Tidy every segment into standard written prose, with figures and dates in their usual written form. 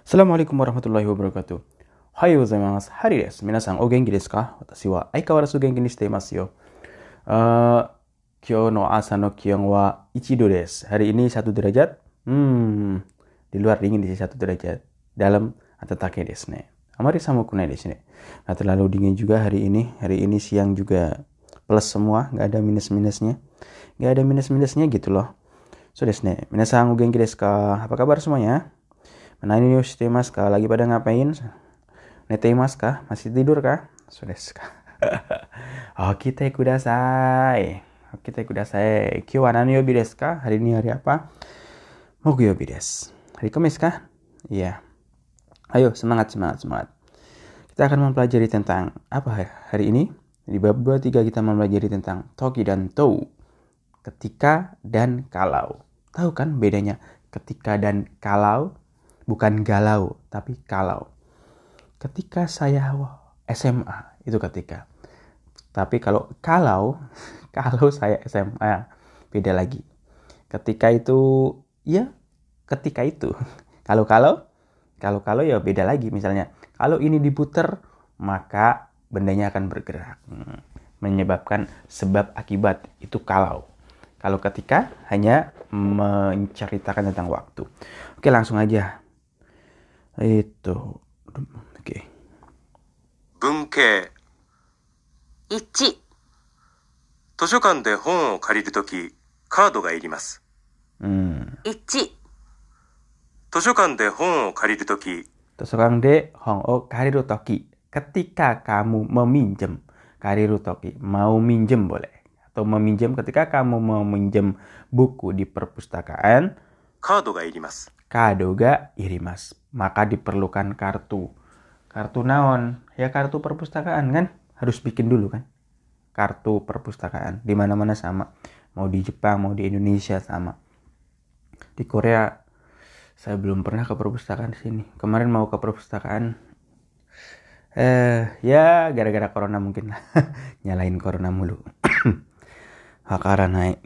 Assalamualaikum warahmatullahi wabarakatuh. Ohayou gozaimasu. Hari desu. Minasan o genki desu ka? Watashi wa aikawarazu genki ni shite imasu yo. Kyou no asa no kion wa 1 do desu. Hari ini 1 derajat. Di luar dingin, di sini 1 derajat. Dalam atatake desu ne. Amari samuku nai desu ne. Nggak terlalu dingin juga hari ini. Hari ini siang juga plus semua, nggak ada minus-minusnya. Nggak ada minus-minusnya gitu loh. So desu ne. Minasan o genki desu ka? Apa kabar semuanya? Nani yo shite imasu ka? Lagi pada ngapain? Nete imasu ka? Masih tidur kah? So desu ka? Okite kudasai. Okite kudasai. Kyou wa nani yobi desu ka? Hari ini hari apa? Mokuyobi desu. Hari Kamis kah? Iya. Ayo, semangat. Kita akan mempelajari tentang apa hari ini? Di bab 23 kita mempelajari tentang toki dan tou. Ketika dan kalau. Tahu kan bedanya ketika dan kalau? Bukan galau, tapi kalau. Ketika saya SMA, itu ketika. Tapi kalau saya SMA, beda lagi. Ketika itu, ya ketika itu. Kalau ya beda lagi. Misalnya, kalau ini diputer, maka bendanya akan bergerak. Menyebabkan sebab akibat, itu kalau. Kalau ketika, hanya menceritakan tentang waktu. Oke, langsung aja. Oke. 文系 1、 図書館で本を借りるとき、カードがいります。 1、 図書館で本を借りるとき、 Tosokan de hong o kariru toki. Ketika kamu meminjam. Kariru toki. Mau minjem boleh. Atau meminjam ketika kamu mau minjem buku di perpustakaan. カードがいります。 Kado ga irimas. Maka diperlukan kartu. Kartu naon? Ya kartu perpustakaan kan? Harus bikin dulu kan? Kartu perpustakaan. Di mana-mana sama. Mau di Jepang, mau di Indonesia sama. Di Korea saya belum pernah ke perpustakaan sini. Kemarin mau ke perpustakaan. Ya gara-gara corona mungkin lah. Nyalain corona mulu. Hakaran naik.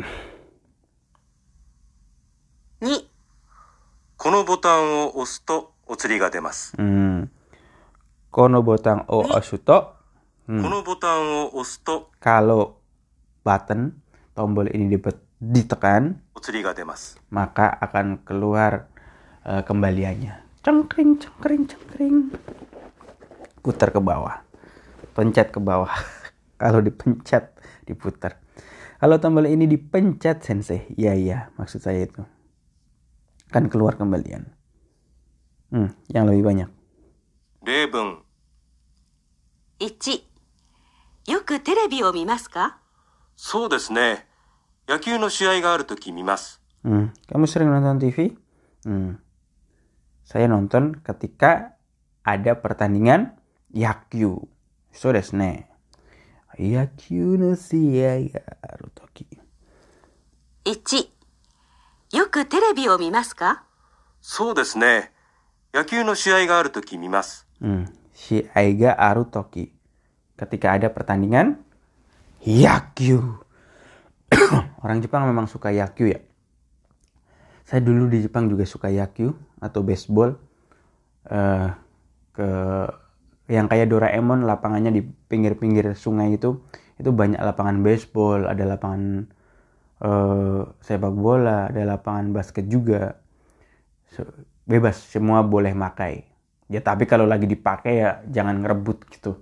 2、 このボタンを押すとお釣りが出ます。 Kono botang o osuto. このボタンを押すと Kalau button tombol ini ditekan, お釣りが出ます。 maka akan keluar kembaliannya. Cengkring. Putar ke bawah. Pencet ke bawah. Kalau dipencet, diputar. Kalau tombol ini dipencet, sensei. Iya, maksud saya itu. Kan keluar kembalian. Yang lebih banyak. 例文 1、よくテレビを見ますか？ そうですね。野球の試合があるとき見ます。 Kamu sering nonton TV? Saya nonton ketika ada pertandingan Yakyu. So desu ne. Yakyu no shiai ga aru toki. 1、よくテレビを見ますか？ そうですね。野球の試合があるとき見ます。 Shiai ga aru toki. Ketika ada pertandingan Yakyu. Orang Jepang memang suka Yakyu ya. Saya dulu di Jepang juga suka Yakyu atau baseball. Yang kayak Doraemon, lapangannya di pinggir-pinggir sungai itu banyak lapangan baseball, ada lapangan sepak bola, ada lapangan basket juga. Bebas, semua boleh pakai. Ya tapi kalau lagi dipakai ya jangan ngerebut gitu.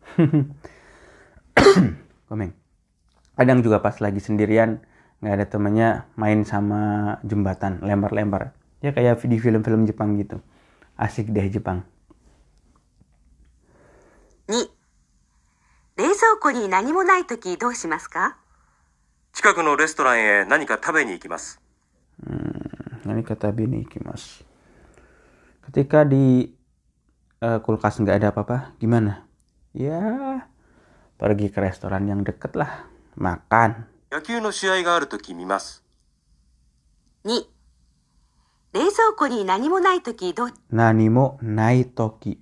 Komeng. Kadang juga pas lagi sendirian nggak ada temannya, main sama jembatan, lempar-lempar. Ya kayak di film-film Jepang gitu. Asik deh Jepang. 2、冷蔵庫に何もないときどうしますか？ 近くのレストランへ何か食べに行きます。 Ini kata bini ikimasu. Ketika di kulkas nggak ada apa-apa, gimana? Ya, pergi ke restoran yang deket lah, makan. 野球の試合があるとき見ます。 2、冷蔵庫に何もないときどう？ Nanimo nai toki.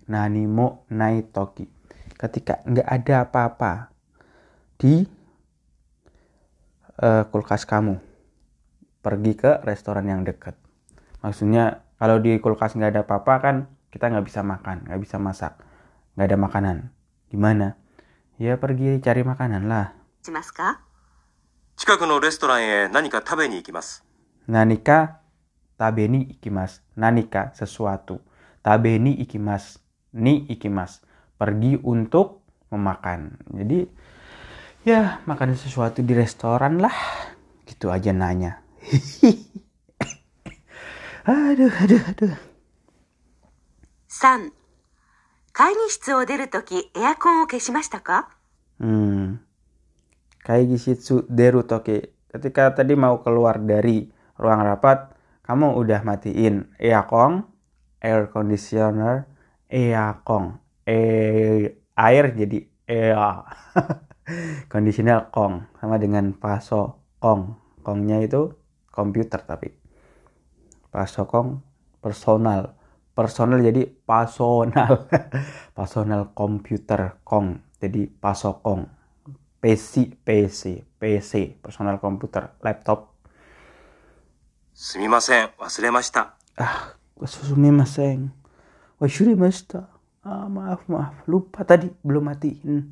Ketika nggak ada apa-apa di kulkas kamu, pergi ke restoran yang dekat. Maksudnya kalau di kulkas nggak ada apa-apa kan kita nggak bisa makan, nggak bisa masak, nggak ada makanan. Gimana? Ya pergi cari makanan lah. しますか？ 近くのレストランへ何か食べに行きます。 Nanika tabeni ikimas. Nanika sesuatu. Tabeni ikimas. Ni ikimas. Pergi untuk memakan. Jadi ya makan sesuatu di restoran lah. Gitu aja nanya. aduh. 3、会議室を出るときエアコンを消しましたか？ Kaigishitsu deru toki. Ketika tadi mau keluar dari ruang rapat, kamu udah matiin air conditioner, air jadi conditioner kong, sama dengan paso kong. Kongnya itu komputer tapi paso kong personal jadi pasonal. Pasonal komputer kong jadi paso kong. PC, personal komputer, laptop. すみません、忘れました。 Sumimasen. Washurimashita. Maaf. Lupa tadi, belum matiin.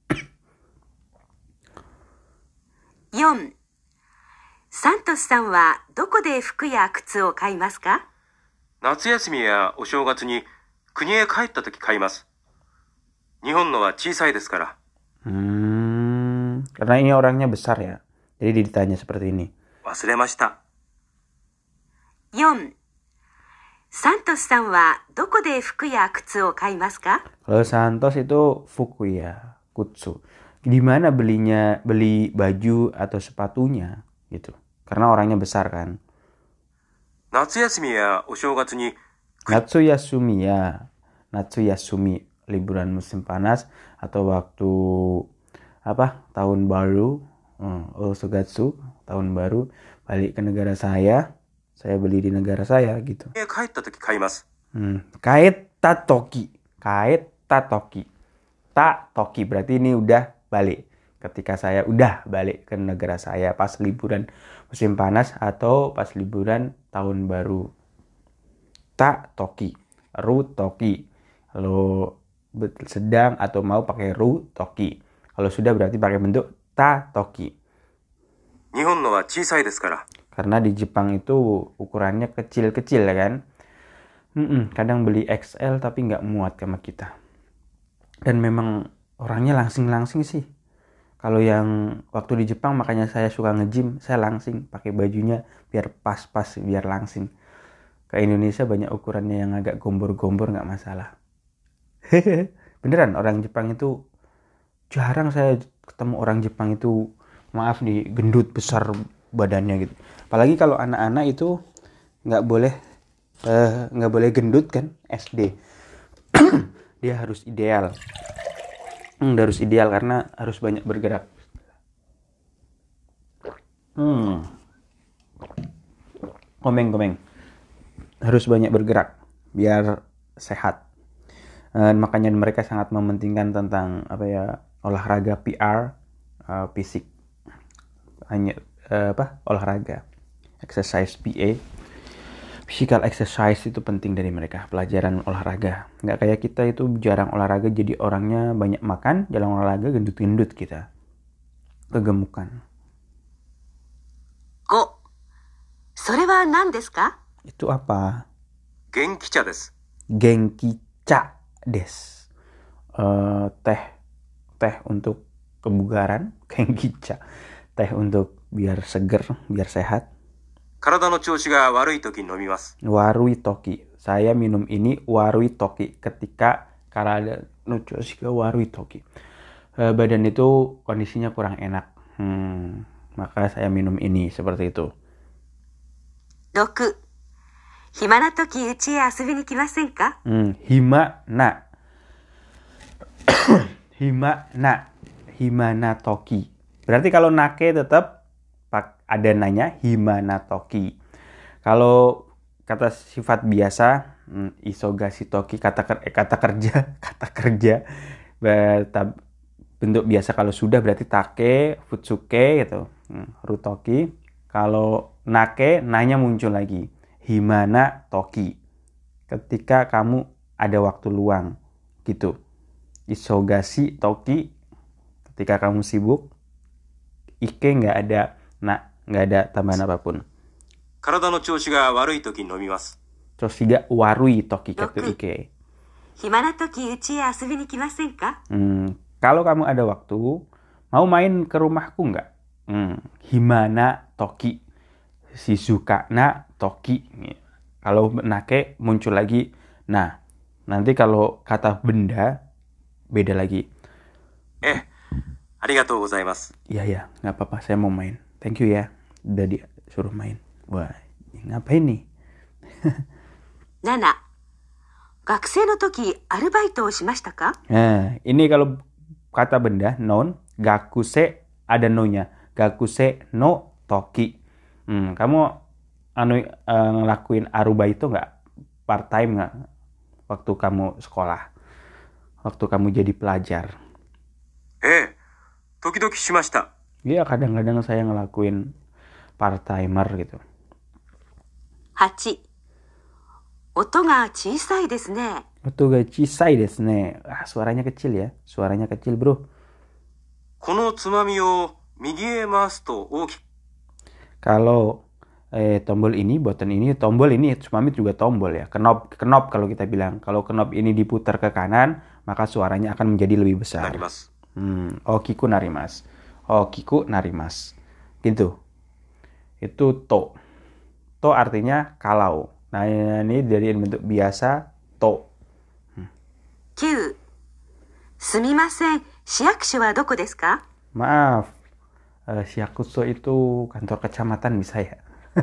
4、サントスさんはどこで服や靴を買いますか？ 夏休みやお正月に国へ帰った時買います。日本のは小さいですから。 Karena ini orangnya besar ya. Jadi ditanya seperti ini. 忘れました。 4、サントスさんはどこで服や靴を買いますか？ Kalau Santos itu Fukuya, Kutsu. Di mana beli baju atau sepatunya gitu. Karena orangnya besar kan. 夏休みやお正月に Natsuyasumi ya. Natsuyasumi, liburan musim panas atau waktu tahun baru, Osogatsu, tahun baru, balik ke negara saya beli di negara saya gitu. 国へ帰った時買います。 Kaeta toki. Ta toki berarti ini udah balik. Ketika saya udah balik ke negara saya pas liburan musim panas atau pas liburan tahun baru. Ta toki. Ru toki. Kalau sedang atau mau pakai ru toki. Kalau sudah berarti pakai bentuk ta toki. 日本のは小さいですから。 Karena di Jepang itu ukurannya kecil-kecil ya kan. Kadang beli XL tapi nggak muat sama kita. Dan memang orangnya langsing-langsing sih. Kalau yang waktu di Jepang makanya saya suka nge-gym, saya langsing pakai bajunya biar pas-pas, biar langsing. Ke Indonesia banyak ukurannya yang agak gombor-gombor nggak masalah. Beneran orang Jepang itu jarang saya ketemu orang Jepang itu maaf nih gendut besar badannya gitu. Apalagi kalau anak-anak itu nggak boleh gendut kan SD. Dia harus ideal. Harus ideal karena harus banyak bergerak. Komeng. Harus banyak bergerak biar sehat. Makanya mereka sangat mementingkan tentang olahraga PR, fisik. Hanya olahraga, exercise PA. Physical exercise itu penting dari mereka, pelajaran olahraga. Nggak kayak kita itu jarang olahraga jadi orangnya banyak makan, jarang olahraga gendut-gendut kita. Kegemukan. 5、それは何ですか？ Itu apa? 元気茶です。 Genkicha des. Teh untuk kebugaran, genkicha. Teh untuk biar seger, biar sehat. 体の調子が悪い時に飲みます。 Warui toki. Saya minum ini warui toki ketika karada no choshi ga warui toki. Badan itu kondisinya kurang enak. Maka saya minum ini seperti itu. 6、暇な時うちへ遊びに来ませんか？ Himana toki. Berarti kalau nake tetap ada nanya himana toki. Kalau kata sifat biasa isogasi toki kata kerja bentuk biasa kalau sudah berarti take futsuke gitu. Rutoki. Kalau nake nanya muncul lagi himana toki. Ketika kamu ada waktu luang gitu. Isogasi toki, ketika kamu sibuk. Ike nggak ada tambahan apapun. 体の調子が悪い時に飲みます。 Choshi ga warui toki kata 6 Ike. 暇な時うちへ遊びに来ませんか？ Kalau kamu ada waktu, mau main ke rumahku nggak? Himana toki, shizuka na toki. Kalau nake muncul lagi. Nah, nanti kalau kata benda beda lagi. ありがとうございます。 Iya, nggak apa-apa, saya mau main. Thank you ya, udah disuruh main. Wah, ngapain nih? 7学生の時アルバイトをしましたか？ Nah, ini kalau kata benda, noun, gakuse ada no-nya. Gakuse no toki. Kamu ngelakuin arubaito nggak? Part time nggak? Waktu kamu sekolah. Waktu kamu jadi pelajar. 時々しました。 Iya, kadang-kadang saya ngelakuin part timer gitu. 8音が小さいですね。 Itu ga chisai desu ne. Suaranya kecil ya. Suaranya kecil, bro. このつまみを右へ回すと大きく。 Kalau tombol ini, button ini, tombol ini, tsumami juga tombol ya. Knob kalau kita bilang. Kalau knob ini diputar ke kanan, maka suaranya akan menjadi lebih besar. なります。 Okiku narimas. Okiku narimas. Gitu. Itu to. To artinya kalau. Nah, ini dari bentuk biasa to. 9すみません、市役所はどこですか？ Maaf. Shiakuso itu kantor kecamatan bisa ya.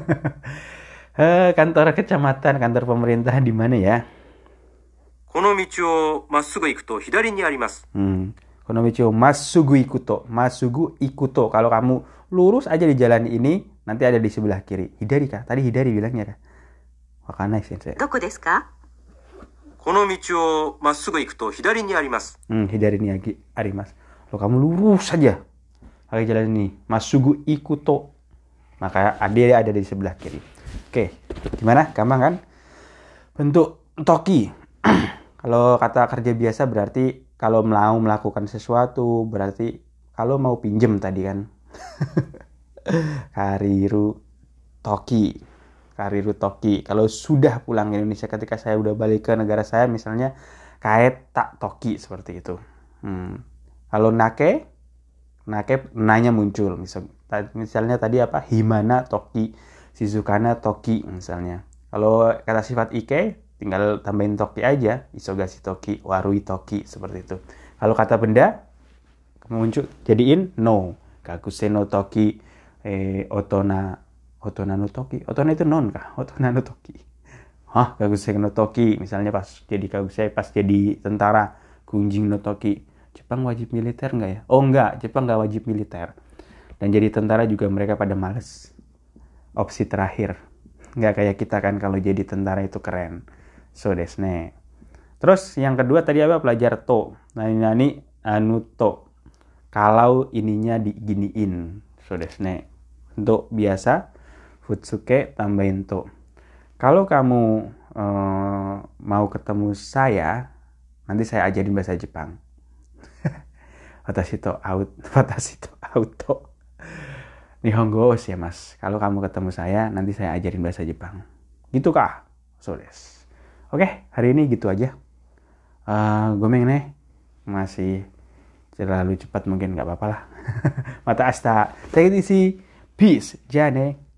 Kantor kecamatan, kantor pemerintah di mana ya? この道をまっすぐ行くと左にあります。 Konomicho masugu ikuto. Masugu ikuto. Kalau kamu lurus aja di jalan ini, nanti ada di sebelah kiri. Hidari kah? Tadi hidari bilangnya kah? Wakanai sensei. どこですか？ この道をまっすぐ行くと左にあります。 Hidari ni arimas. Kalau kamu lurus saja pakai jalan ini, masugu ikuto. Maka dia ada di sebelah kiri. Oke, gimana? Gampang kan? Bentuk toki. Kalau kata kerja biasa berarti kalau mau melakukan sesuatu, berarti kalau mau pinjem tadi kan. Kariru toki. Kariru toki. Kalau sudah pulang ke Indonesia, ketika saya udah balik ke negara saya, misalnya kaet tak toki seperti itu. Kalau nake nanya muncul. Misalnya tadi apa? Himana toki, shizukana toki misalnya. Kalau kata sifat ike, tinggal tambahin toki aja, isogasi toki, warui toki, seperti itu. Kalau kata benda, muncul jadiin no, kakuse no toki, otona no toki. Otona itu non kah? Otona no toki. Kakuse no toki, misalnya pas jadi kakuse, pas jadi tentara, kunjing no toki. Jepang wajib militer nggak ya? Oh nggak, Jepang nggak wajib militer. Dan jadi tentara juga mereka pada males. Opsi terakhir. Nggak kayak kita kan, kalau jadi tentara itu keren. So desne. Terus yang kedua tadi apa? Pelajar to. Nani anu to. Kalau ininya diginiin. So desne. Untuk biasa futsuke tambahin to. Kalau kamu mau ketemu saya, nanti saya ajarin bahasa Jepang. Watashi to auto. Nihongo ya mas. Kalau kamu ketemu saya, nanti saya ajarin bahasa Jepang. Gitu kah? So des. Oke, hari ini gitu aja. Gomeng nih. Masih terlalu cepat mungkin, nggak apa-apa lah. Mata asta. Take it easy. Peace. Jane.